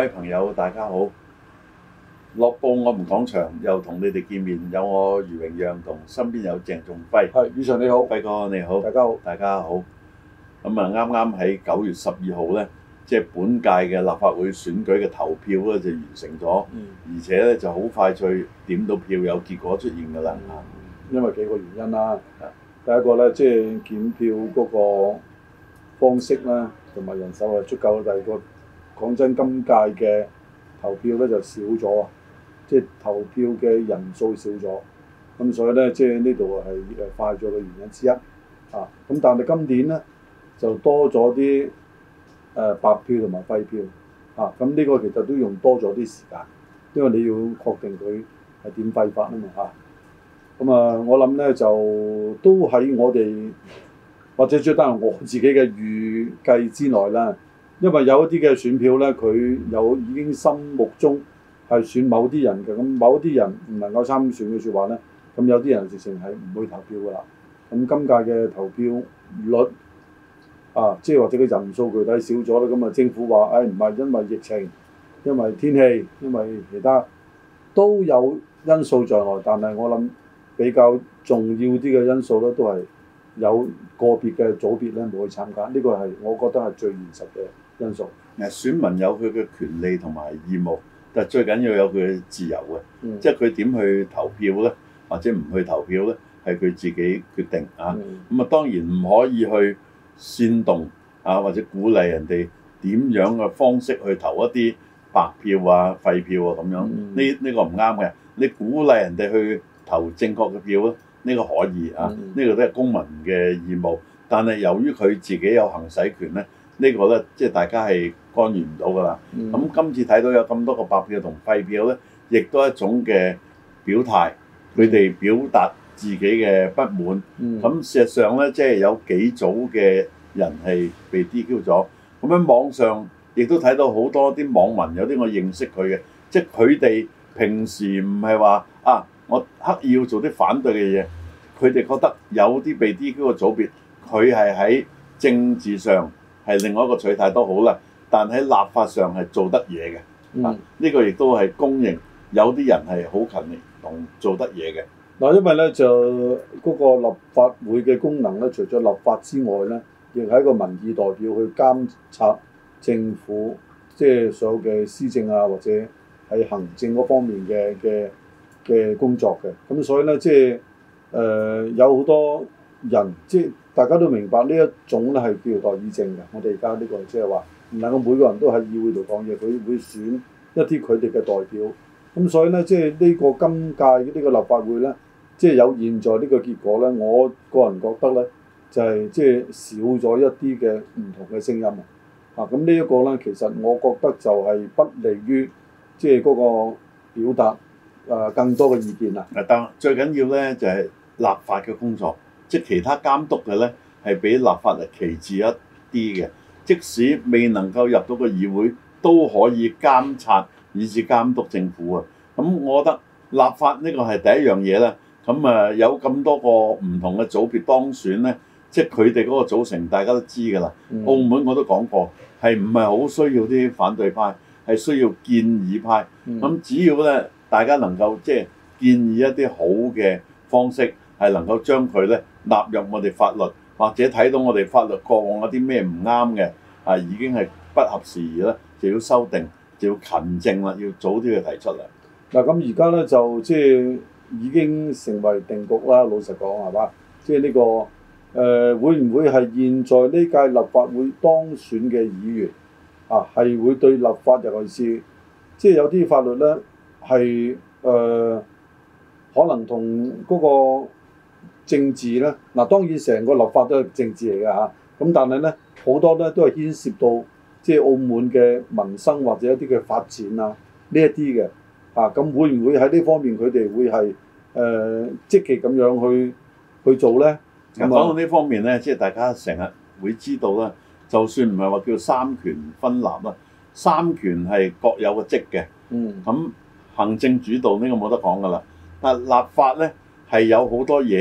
位朋友，大家好！樂報我們講場又同你哋見面，有我余榮讓同身邊有鄭仲輝。 係，宇常你好， 輝哥你好， 大家好， 大家好。咁啊，啱啱喺9月12號咧，即係本屆嘅立法會選舉嘅投票咧就完成咗，而且咧就好快脆點到票有結果出現㗎啦。 因為幾個原因啦，第一個咧即係檢票嗰個方式啦，同埋人手係足夠。第二個講真，今屆嘅投票咧就少咗啊，即係投票嘅人數少咗，咁所以咧即係呢度係快咗嘅原因之一啊。咁但係今年咧就多咗啲白票同埋廢票啊。咁呢個其實都用多咗啲時間，因為你要確定佢係點廢法啊嘛嚇。咁我諗咧就都喺我哋或者最得係我自己嘅預計之內啦。因為有一啲嘅選票咧，佢已經心目中係選某啲人嘅，咁某啲人唔能夠參選嘅説話咧，咁有啲人直情係唔會投票㗎啦。咁今屆嘅投票率即係或者個人數具體少咗啦，咁政府話唔係因為疫情、因為天氣、因為其他都有因素在內，但係我諗比較重要啲嘅因素咧，都係有個別嘅組別咧冇去參加，呢個係我覺得係最現實嘅因素。 選民有佢嘅權利同埋義務，但係最緊要有佢嘅自由嘅，即係佢點去投票咧，或者唔去投票咧，係佢自己決定啊。咁當然唔可以去煽動或者鼓勵人哋點樣嘅方式去投一啲白票啊、廢票啊咁樣。呢個唔啱嘅。你鼓勵人哋去投正確嘅票咧，呢個可以啊，呢個都係公民嘅義務。但係由於佢自己有行使權咧，呢個咧即係大家係干預唔到㗎啦。咁今次睇到有咁多個白票同廢票咧，亦都係一種嘅表態，佢哋表達自己嘅不滿。咁事實上咧，即係有幾組嘅人係被 DQ 咗。咁喺網上亦都睇到好多啲網民，有啲我認識佢嘅，即係佢哋平時唔係話我刻意要做啲反對嘅嘢，佢哋覺得有啲被 DQ 嘅組別，佢係喺政治上係另外一個取態都好啦，但喺立法上係做得嘢嘅。呢個亦都係公認，有啲人係好勤力同做得嘢嘅。 嗱，因為咧就嗰個立法會嘅功能咧，除咗立法之外咧，亦係一個民意代表去監察政府，即係所有嘅施政或者係行政嗰方面嘅工作嘅。咁所以咧，即係有好多人，即係大家都明白呢一種咧係叫做代議政嘅。我哋而家呢個即係話唔能夠每個人都喺議會度講嘢，佢會選一啲佢哋嘅代表。咁所以咧，即係呢個今屆呢個立法會咧，即係有現在呢個結果咧，我個人覺得咧就係即係少咗一啲嘅唔同嘅聲音咁呢一個咧，其實我覺得就係不利於即係嗰個表達更多嘅意見啦。 但最緊要咧就係立法嘅工作，即係其他監督嘅咧係比立法係其次一啲嘅。即使未能夠入到個議會，都可以監察以至監督政府啊。咁我覺得立法呢個係第一樣嘢啦。咁有咁多個唔同嘅組別當選咧，即係佢哋嗰個組成大家都知㗎啦。澳門我都講過，係唔係好需要啲反對派，係需要建議派。咁只要咧大家能夠即係建議一啲好嘅方式，係能夠將佢咧納入我哋法律，或者睇到我哋法律過往有啲咩唔啱嘅已經係不合時宜啦，就要修訂，就要勤政啦，要早啲去提出嚟。 嗱，咁而家咧就即係已經成為定局啦。老實講係嘛，即係呢個會唔會係現在呢屆立法會當選嘅議員係會對立法，尤其是即係有啲法律咧係可能同嗰個政治咧，當然成個立法都係政治嚟嘅嚇。咁但係咧好多咧都係牽涉到即係澳門嘅民生或者一啲嘅發展呢一啲嘅咁會唔會喺呢方面佢哋會係積極咁樣去做咧？ 講到呢方面咧，即係大家成日會知道啦。就算唔係話叫三權分立啦，三權係各有個職嘅。咁行政主導呢個冇得講噶啦。但係立法咧係有好多嘢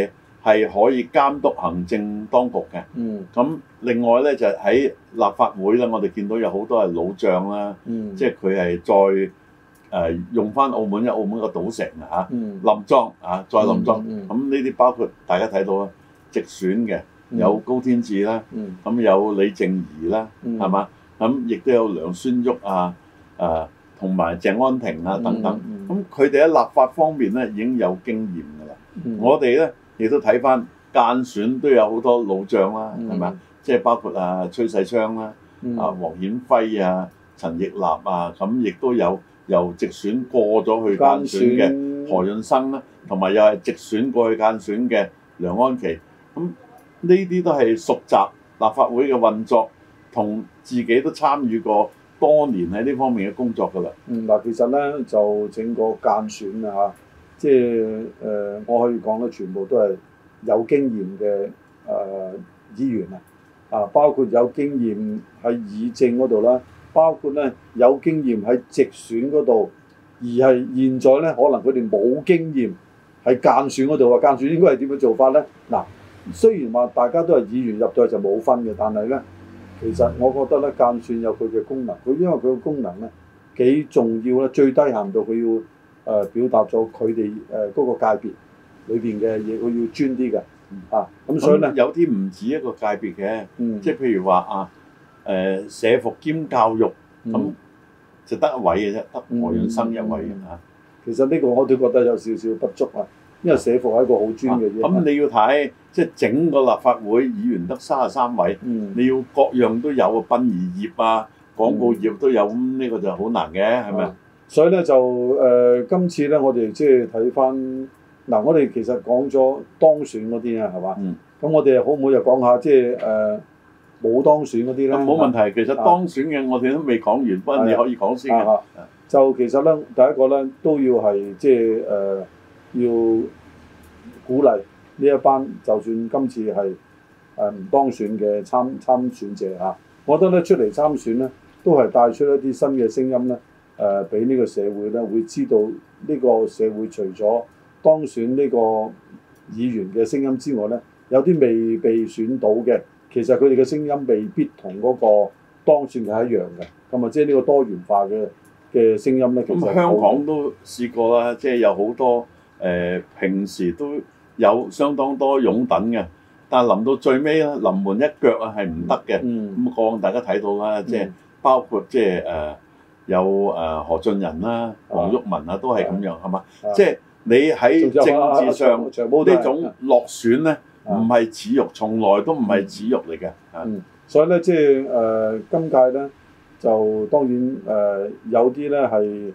係可以監督行政當局嘅。咁另外咧就喺立法會咧，我哋見到有好多係老將啦，即係佢係再用翻澳門，因為澳門個賭城啊冧莊啊，再冧莊。咁呢啲包括大家睇到啦，直選嘅有高天賜啦，咁有李靜儀啦，係嘛？咁亦都有梁孫旭啊，同埋鄭安婷啊等等。咁佢哋喺立法方面咧已經有經驗㗎啦。我哋咧亦都睇翻間選都有好多老將啦，係咪啊？即係包括崔世昌啦、黃顯輝啊、陳奕立啊，咁亦都有由直選過咗去間選嘅何潤生啦，同埋又係直選過去間選嘅梁安琪。咁呢啲都係熟習立法會嘅運作，同自己都參與過多年喺呢方面嘅工作㗎啦。 嗱，其實咧就整個間選啊，即係我可以講咧，全部都係有經驗嘅議員啊，包括有經驗喺議政嗰度啦，包括咧有經驗喺直選嗰度，而係現在咧可能佢哋冇經驗喺間選嗰度啊。間選應該係點樣做法咧？嗱，雖然話大家都係議員入到去就冇分嘅，但係咧其實我覺得咧間選有佢嘅功能，佢因為佢嘅功能咧幾重要咧，最低限度佢要表達咗佢哋嗰個界別裏邊嘅嘢，佢要專啲嘅。咁所以咧有啲唔止一個界別嘅，即係譬如話社服兼教育咁就得一位嘅啫，得何潤生一位嘅嚇。 其實呢個我都覺得有少少不足啊，因為社服係一個好專嘅嘢。 咁你要睇即係整個立法會議員得33位，你要各樣都有啊，殯儀業啊、廣告業都有，咁呢個就好難嘅，係咪？ 所以咧就今次咧我哋即係睇翻。嗱，我哋其實講咗當選嗰啲啊，係嘛？咁我哋可唔可以又講下即係冇當選嗰啲咧？ 冇問題，其實當選嘅我哋都未講完，不過你可以講先嘅。 就其實咧，第一個咧都要係即係要鼓勵呢一班，就算今次係唔當選嘅參選者嚇，我覺得咧出嚟參選咧，都係帶出一啲新嘅聲音咧，俾呢個社會咧會知道呢個社會除咗當選呢個議員嘅聲音之外咧，有啲未被選到嘅，其實佢哋嘅聲音未必同嗰個當選嘅係一樣嘅。咁啊，即係呢個多元化嘅聲音咧。 咁香港都試過啦，即係有好多平時都有相當多擁躉嘅，但係臨到最尾咧，臨門一腳啊係唔得嘅。咁過往大家睇到啦，即係包括即係有何俊仁啦、黃毓民啊，都係咁樣係嘛？即係你喺政治上呢種落選咧，唔係恥辱，從來都唔係恥辱嚟嘅。 所以咧，即係今屆咧，就當然有啲咧係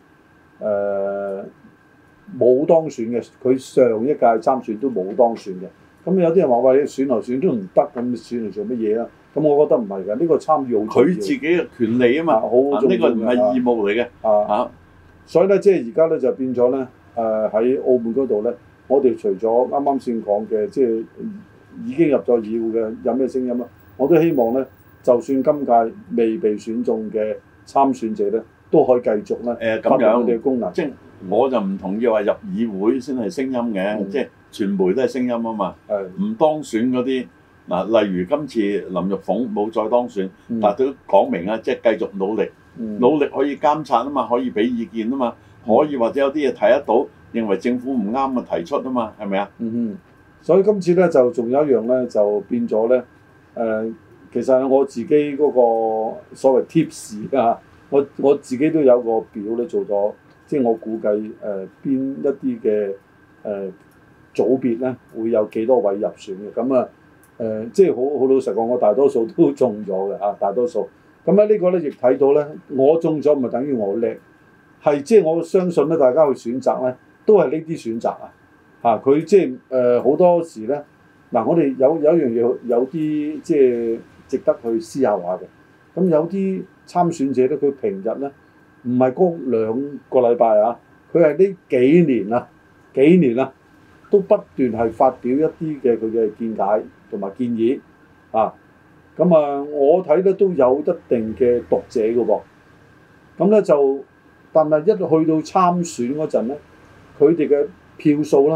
冇當選嘅，佢上一屆參選都冇當選嘅。咁有啲人話喂，選來選都唔得，咁選嚟做乜嘢啊？咁我覺得唔係㗎，呢個參與好重要。 佢自己嘅權利啊嘛，呢個唔係義務嚟嘅。 所以咧，即係而家咧就變咗咧。喺澳門嗰度咧，我哋除咗啱啱先講嘅，即係已經入咗議會嘅有咩聲音啦，我都希望咧，就算今屆未被選中嘅參選者咧，都可以繼續咧發揮佢哋嘅功能。 即係我就唔同意話入議會先係聲音嘅，即係傳媒都係聲音啊嘛。唔當選嗰啲嗱，例如今次林玉鳳冇再當選，但係都講明啊，即係繼續努力，努力可以監察啊嘛，可以俾意見啊嘛。可以或者有啲嘢睇得到，認為政府唔啱嘅提出啊嘛，係咪啊？ 所以今次咧就仲有一樣咧，就變咗咧其實我自己嗰個所謂 tips 啊，我自己都有個表咧做咗，即係我估計邊一啲嘅組別咧會有幾多位入選嘅，咁啊即係好老實講，我大多數都中咗嘅啊，大多數。咁喺呢個咧亦睇到咧，我中咗唔係等於我叻。係即係我相信咧，大家去選擇咧，都係呢啲選擇啊！佢即係好多時咧，我哋有一樣嘢，有啲即係值得去思考下嘅。咁有啲參選者咧，佢平日咧唔係嗰2個禮拜啊，佢係呢幾年啦，都不斷係發表一啲嘅佢嘅見解同埋建議啊。咁我睇咧都有一定嘅讀者嘅噃。咁咧就。但係一去到參選嗰陣咧，佢哋嘅票數咧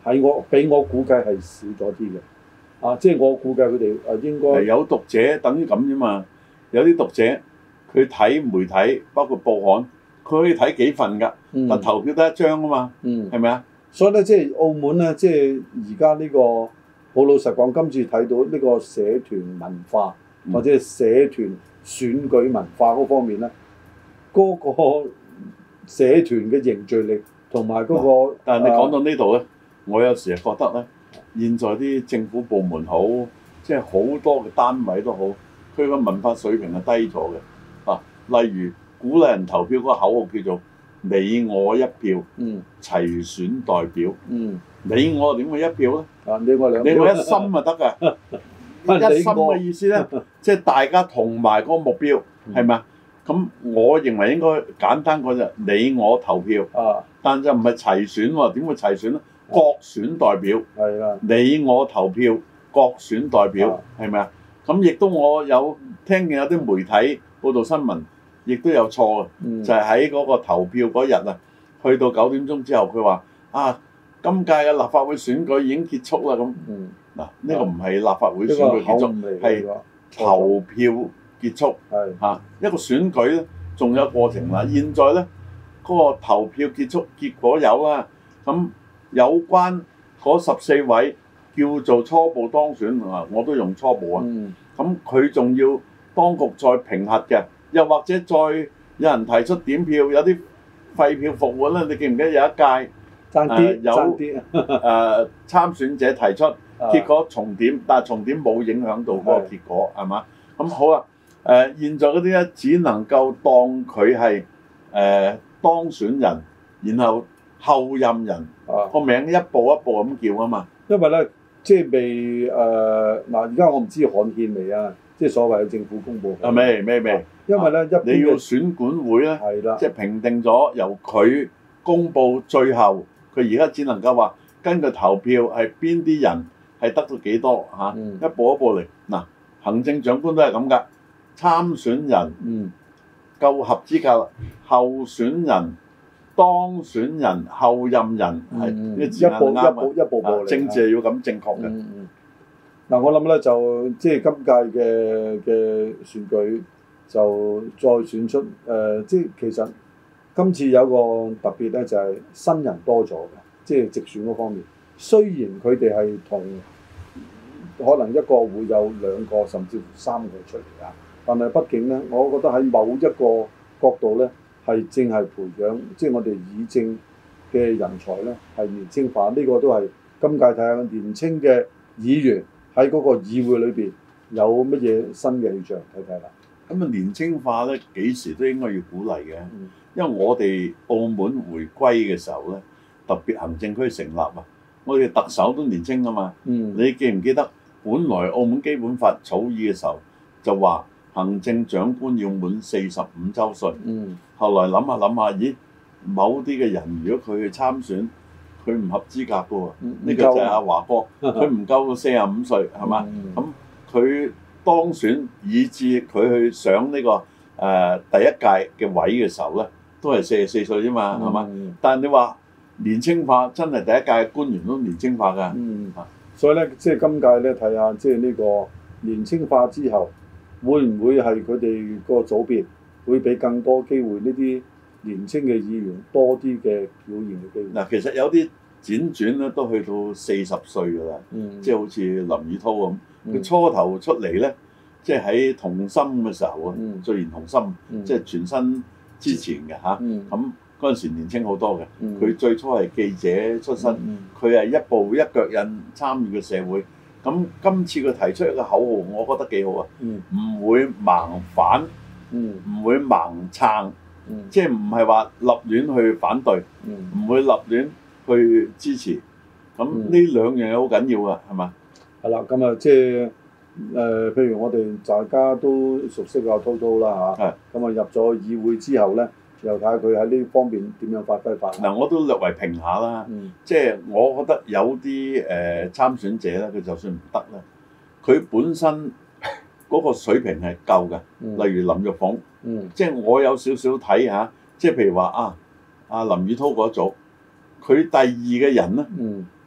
俾我估計係少咗啲嘅。即係我估計佢哋應該有讀者等於咁啫嘛。有啲讀者佢睇媒體，包括報刊，佢可以睇幾份㗎，但投票得一張啊嘛，係咪啊？ 所以咧，即係澳門咧，即係而家呢個好老實講，今次睇到呢個社團文化或者係社團選舉文化嗰方面咧，嗰個社團嘅凝聚力同埋嗰個， 但係你講到呢度咧，我有時係覺得咧，現在啲政府部門好，即係好多嘅單位都好，佢個文化水平係低咗嘅。例如鼓勵人投票嗰個口號叫做你我一票，齊選代表。你我點會一票咧？ 你我兩票， 你我一心就得㗎。一心嘅意思咧，即係大家同埋嗰個目標，係咪啊？咁我認為應該簡單講就你我投票，但就唔係齊選喎。點會齊選咧？各選代表。係啦。你我投票，各選代表，係咪啊？咁亦都我有聽見有啲媒體報道新聞，亦都有錯嘅，就係喺嗰個投票嗰日啊，去到9點鐘之後，佢話今屆嘅立法會選舉已經結束啦咁。嗱，呢個唔係立法會選舉結束，係投票結束。一個選舉咧，仲有過程啦。現在咧，嗰個投票結束，結果有啦。咁有關嗰14位叫做初步當選啊，我都用初步啊。咁佢仲要當局再評核嘅，又或者再有人提出點票，有啲廢票復活啦。你記唔記得有一屆有參選者提出，結果重點，但係重點冇影響到嗰個結果，係嘛？咁好啦，現在嗰啲咧只能夠當佢係當選人，然後後任人個名一步一步咁叫啊嘛。 因為咧，即係未而家我唔知刊憲未啊，即係所謂嘅政府公佈。 未。 因為咧， 你要選管會咧，即係評定咗由佢公佈，最後佢而家只能夠話根據投票係邊啲人係得到幾多嚇，一步一步嚟。嗱，行政長官都係咁㗎，參選人夠合資格，候選人、當選人、後任人係呢個字眼啱， 一步步嚟。 政治係要咁正確嘅。 嗱，我諗咧就即係今屆嘅選舉就再選出即係其實今次有個特別咧，就係新人多咗嘅，即係直選嗰方面。雖然佢哋係同可能一個會有2個甚至乎3個出嚟啊，但係畢竟咧，我覺得喺某一個角度咧，係正係培養即係我哋議政嘅人才咧，係年青化。呢個都係今屆睇下年青嘅議員喺嗰個議會裏邊有乜嘢新嘅氣象，睇睇啦。 咁年青化咧幾時都應該要鼓勵嘅，因為我哋澳門回歸嘅時候咧，特別行政區成立啊，我哋特首都年青啊嘛。你記唔記得本來澳門基本法草擬嘅時候就話行政長官要滿45週歲。後來諗下，咦，某啲嘅人如果佢去參選，佢唔合資格嘅喎。呢個就係阿華哥，佢唔夠45歲係嘛？咁佢當選以至佢去上呢個第一屆嘅位嘅時候咧，都係44歲啫嘛，係嘛？但係你話年青化，真係第一屆官員都年青化㗎。 所以咧，即係今屆咧睇下，即係呢個年青化之後，會唔會係佢哋個組別會俾更多機會呢啲年青嘅議員多啲嘅表現嘅機會？ 嗱，其實有啲輾轉咧都去到40歲㗎啦，即係好似林宇滔咁。佢初頭出嚟咧，即係喺同心嘅時候啊，最然同心，即係全身之前嘅嚇。咁嗰陣時年青好多嘅，佢最初係記者出身，佢係一步一腳印參與嘅社會。咁今次佢提出一個口號，我覺得幾好啊，唔會盲反，唔會盲撐，即係唔係話立亂去反對，唔會立亂去支持。咁呢兩樣嘢好緊要啊，係嘛？ 係啦，咁啊，即係譬如我哋大家都熟悉阿滔滔啦嚇，咁啊入咗議會之後咧，又睇下佢喺呢方面點樣發揮法。 嗱，我都略為評下啦，即係我覺得有啲參選者咧，佢就算唔得咧，佢本身嗰個水平係夠嘅，例如林玉鳳，即係我有少少睇下，即係譬如話阿林宇滔嗰組，佢第2嘅人咧，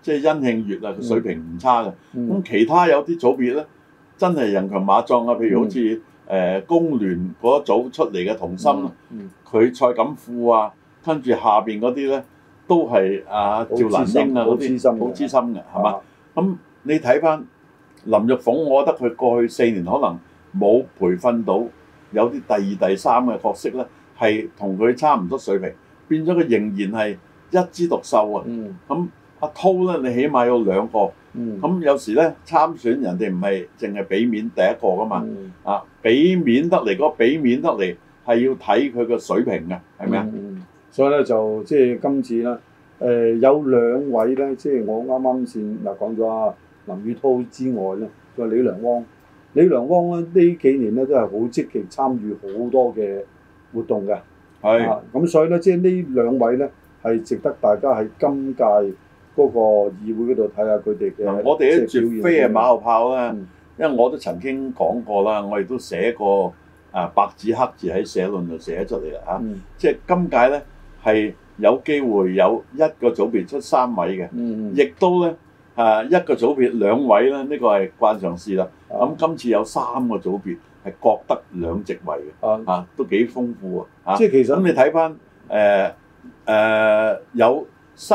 即係殷慶月啊，水平唔差嘅。咁其他有啲組別咧，真係人強馬壯啊，譬如好似工聯嗰一組出嚟嘅同心，佢蔡錦富啊，跟住下邊嗰啲咧都係趙蘭英啊嗰啲好資深嘅，係嘛？咁你睇翻林玉鳳，我覺得佢過去4年可能冇培訓到有啲第2、第3嘅角色咧，係同佢差唔多水平，變咗佢仍然係一枝獨秀啊！咁阿濤咧，你起碼有2個，咁有時咧參選人哋唔係淨係俾面第一個噶嘛，俾面得嚟，嗰俾面得嚟係要睇佢個水平嘅，係咪啊？ 所以咧就即係今次咧，有2位咧，即係我啱啱先講咗啊林宇滔之外咧，仲有李良汪。李良汪咧呢幾年咧都係好積極參與好多嘅活動嘅，係咁所以咧即係呢2位咧係值得大家喺今屆嗰個議會嗰度睇下佢哋嘅。 我哋咧絕非係馬後炮啦，因為我都曾經講過啦，我亦都寫過白紙黑字喺社論度寫出嚟啦嚇，即係今屆咧係有機會有1個組別出3位嘅，亦都咧1個組別2位咧，呢個係慣常事啦。咁今次有3個組別係各得2席位嘅，都幾豐富啊！即係其實咁你睇翻有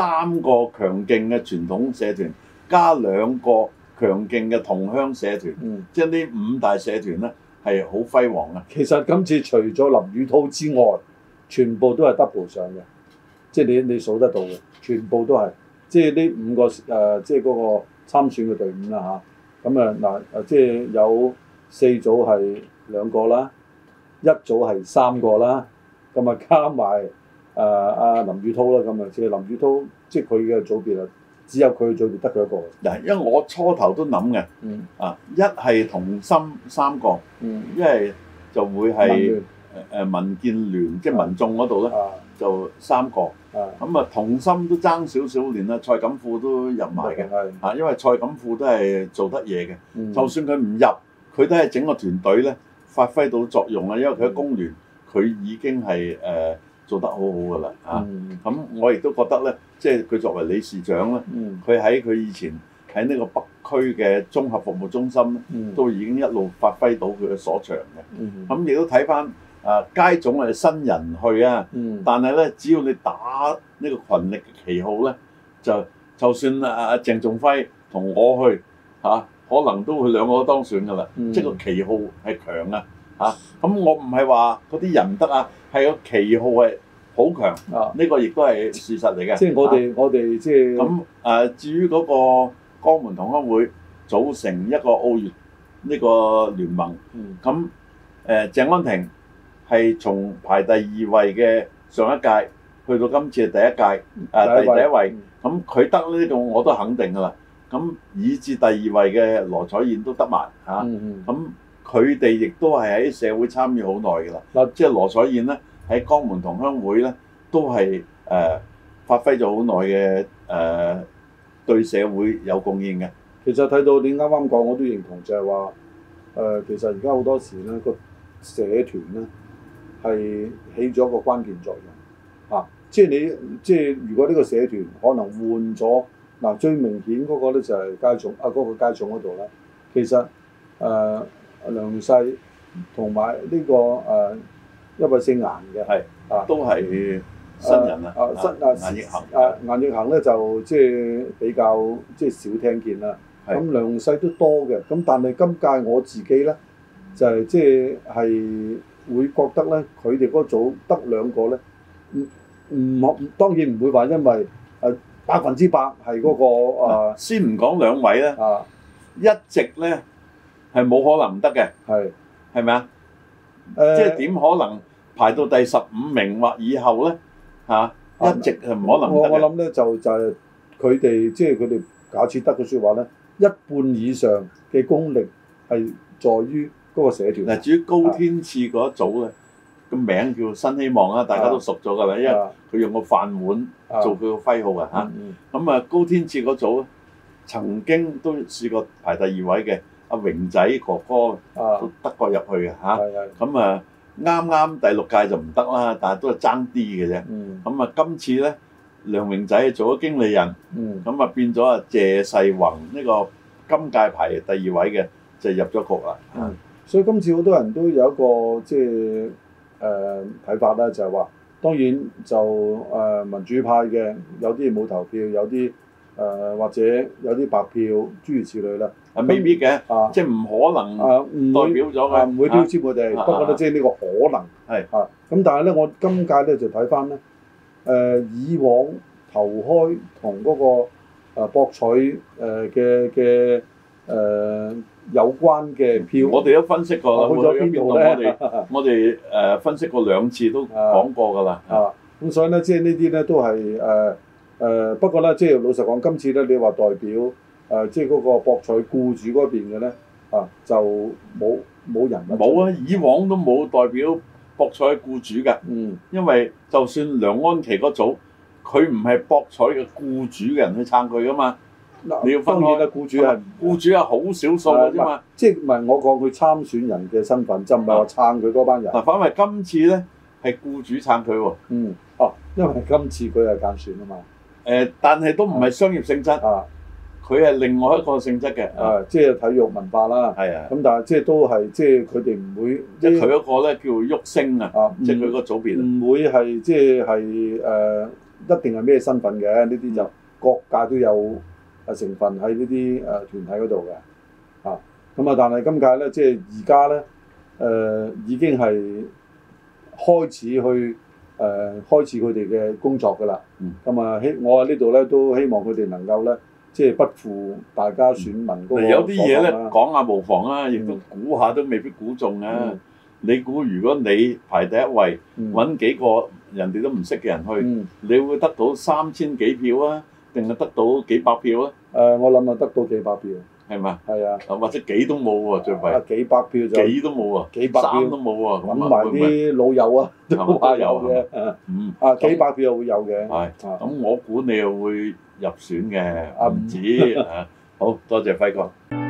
3個強勁嘅傳統社團，加2個強勁嘅同鄉社團，即係呢5大社團咧係好輝煌嘅。 其實今次除咗林宇滔之外，全部都係 double 上嘅，即係你數得到嘅，全部都係即係呢5個即係嗰個參選嘅隊伍啦嚇。咁即係有4組係2個啦，1組係3個啦，咁加埋阿林宇滔啦，咁即係林宇滔，即係佢嘅組別啊，只有佢嘅組別得佢一個。 嗱，因為我初頭都諗嘅，一係同心3個，一係就會係民建聯，即係民眾嗰度咧就3個。咁同心都爭少少，連蔡錦富都入埋嘅，因為蔡錦富都係做得嘢嘅，就算佢唔入，佢都係整個團隊咧發揮到作用啊，因為佢喺工聯，佢已經係做得好好㗎啦咁我亦都覺得咧，即係佢作為理事長咧，佢喺佢以前喺呢個北區嘅綜合服務中心咧，都已經一路發揮到佢嘅所長嘅。咁亦都睇翻。街總係新人去啊，但係咧，只要你打呢個群力嘅旗號咧，就算鄭仲輝同我去可能都會2個都當選㗎啦。即係個旗號係強啊咁我唔係話嗰啲人唔得啊，係個旗號係好強呢個亦都係事實嚟嘅。 即係我哋即係咁至於嗰個江門同鄉會組成一個澳粵呢個聯盟，咁鄭安庭係從排第2位嘅上一屆去到今次係第一屆第一位，咁佢得呢個我都肯定㗎啦。咁以至第2位嘅羅彩燕都得埋咁佢哋亦都係喺社會參與好耐㗎啦。即係羅彩燕咧喺江門同鄉會咧都係發揮咗好耐嘅對社會有貢獻嘅。 其實睇到你啱啱講，我都認同就係話其實而家好多時咧個社團咧係起咗一個關鍵作用即係如果呢個社團可能換咗最明顯嗰個咧就係街總嗰個街總嗰度啦。其實梁世同埋呢個一位姓顏嘅都係新人顏奕恆顏奕恆咧就即係比較即係少聽見啦。咁梁世都多嘅，咁但係今屆我自己咧就係即係會覺得咧，佢哋嗰組得2個咧，當然唔會話因為100%係嗰個先唔講2位咧，一席咧係冇可能唔得嘅，係咪啊？即係點可能排到第15名或以後咧一席係唔可能唔得嘅。 我諗咧就係佢哋即係佢哋假設得嘅説話咧，一半以上嘅功力係在於嗰個社團。 嗱，至於高天賜嗰一組咧，個名叫新希望啦，大家都熟咗㗎啦，因為佢用個飯碗做佢個徽號啊咁高天賜嗰組曾經都試過排第2位嘅，阿榮仔哥哥都得過入去嘅咁啱啱第6屆就唔得啦，但係都係爭啲嘅啫。咁今次咧梁榮仔做咗經理人，咁啊變咗啊謝世宏呢個今屆排第2位嘅就入咗局啦。 所以今次好多人都有一個即係睇法啦，就係話當然就民主派嘅有啲冇投票，有啲或者有啲白票諸如此類啦。 未必嘅，即係唔可能代表咗嘅， 唔會標籤佢哋。不過咧，即係呢個可能係咁，但係咧，我今屆咧就睇翻咧，以往投開同嗰個博彩嘅有關嘅票， 我哋都分析過啦。 去咗邊度咧？ 我哋分析過2次都講過㗎啦。 咁所以咧，即係呢啲咧都係不過咧，即係老實講，今次咧你話代表即係嗰個博彩僱主嗰邊嘅咧就冇人冇啊！以往都冇代表博彩僱主㗎。因為就算梁安琪嗰組，佢唔係博彩嘅僱主嘅人去撐佢㗎嘛。你要分開啦，僱主係好少數嘅啫嘛。 即係唔係我講佢參選人嘅身份，就唔係話撐佢嗰班人。 反為今次咧係僱主撐佢喎。 因為今次佢係間選啊嘛。 但係都唔係商業性質。佢係另外一個性質嘅。 即係體育文化啦。係啊。咁但係即係都係即係佢哋唔會。 即係佢嗰個咧叫旭升啊。即係佢個組別。 唔會係即係一定係咩身份嘅？呢啲就各界都有成分喺呢啲團體嗰度嘅。咁但係今屆咧，即係而家咧已經係開始去開始佢哋嘅工作㗎啦。我喺呢度咧都希望佢哋能夠咧，即係不負大家選民嗰個有啲嘢咧講下無妨啊，亦都估下都未必估中啊。你估如果你排第1位，揾幾個人哋都唔識嘅人去，你會得到3000幾票啊，定係得到幾百票啊？ 我諗得到幾百票。係嘛？ 係啊。 或者幾都冇喎，最弊。 幾百票就。 幾都冇喎。 幾百票 3都冇喎。 揾埋啲老友啊，都話有嘅。幾百票又會有嘅。 係。咁我估你又會入選嘅，唔止。好多謝輝哥。